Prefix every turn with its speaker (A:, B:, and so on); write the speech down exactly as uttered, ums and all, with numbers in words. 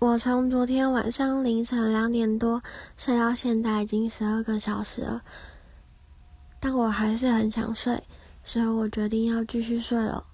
A: 我从昨天晚上凌晨两点多睡到现在已经十二个小时了，但我还是很想睡，所以我决定要继续睡了。